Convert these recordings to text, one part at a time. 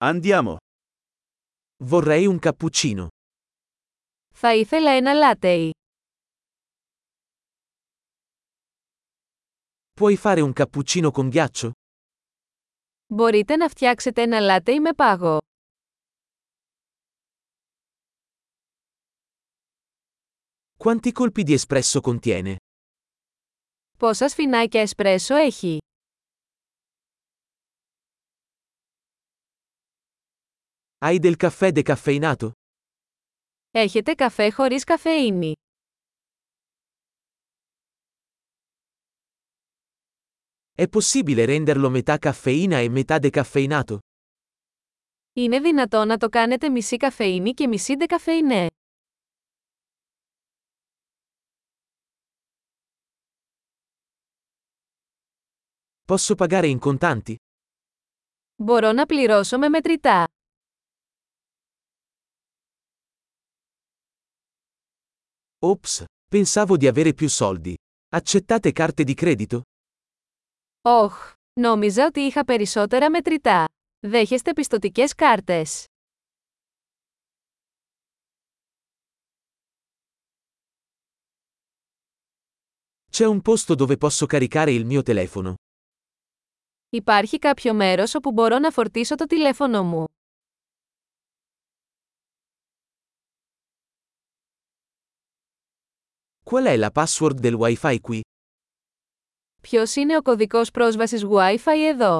Andiamo. Vorrei un cappuccino. Θα ήθελα ένα λάτεϊ. Puoi fare un cappuccino con ghiaccio? Μπορείτε να φτιάξετε ένα λάτεϊ με πάγο. Quanti colpi di espresso contiene? Πόσα σφινάκια εσπρέσο έχει? Hai del caffè decaffeinato? Έχετε καφέ χωρίς καφεΐνη? È possibile renderlo metà caffeina e metà decaffeinato? Είναι δυνατό να το κάνετε μισή καφεΐνη και μισή ντεκαφεϊνέ? Posso pagare in contanti? Μπορώ να πληρώσω με μετρητά. Ops, pensavo di avere più soldi. Accettate carte di credito? Όχ, νόμιζα ότι είχα περισσότερα μετρητά. Δέχεστε πιστωτικές κάρτες? C'è un posto dove posso caricare il mio telefono. Υπάρχει κάποιο μέρος όπου μπορώ να φορτίσω το τηλέφωνο μου? Qual è la password del Wi-Fi qui? Ποιος είναι ο κωδικός πρόσβασης Wi-Fi εδώ?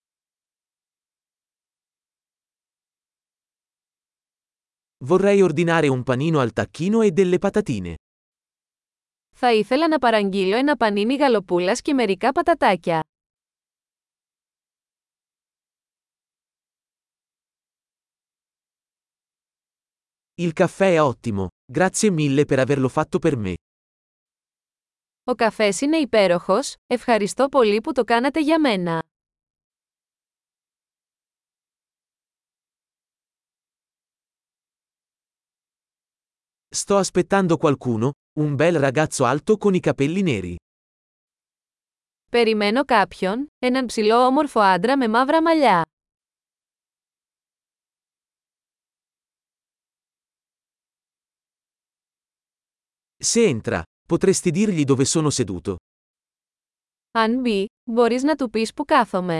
Vorrei ordinare un panino al tacchino e delle patatine. Θα ήθελα να παραγγείλω ένα πανίνι γαλοπούλας και μερικά πατατάκια. Il caffè è ottimo, grazie mille per averlo fatto per me. Ο καφές είναι υπέροχος, ευχαριστώ πολύ που το κάνατε για μένα. Sto aspettando qualcuno, un bel ragazzo alto con i capelli neri. Περιμένω κάποιον, έναν ψηλό όμορφο άντρα με μαύρα μαλλιά. Se entra, potresti dirgli dove sono seduto. Αν μπει, μπορείς να του πεις που κάθομαι.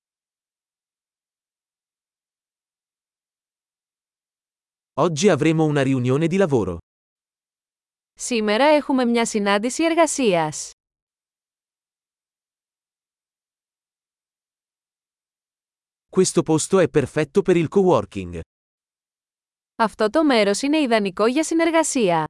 Oggi avremo una riunione di lavoro. Σήμερα έχουμε μια συνάντηση εργασίας. Questo posto è perfetto per il coworking. Αυτό το μέρος είναι ιδανικό για συνεργασία.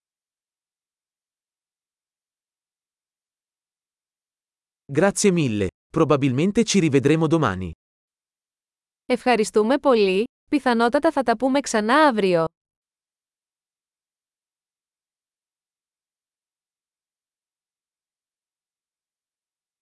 Grazie mille, probabilmente ci rivedremo domani. Ευχαριστούμε πολύ, πιθανότατα θα τα πούμε ξανά αύριο.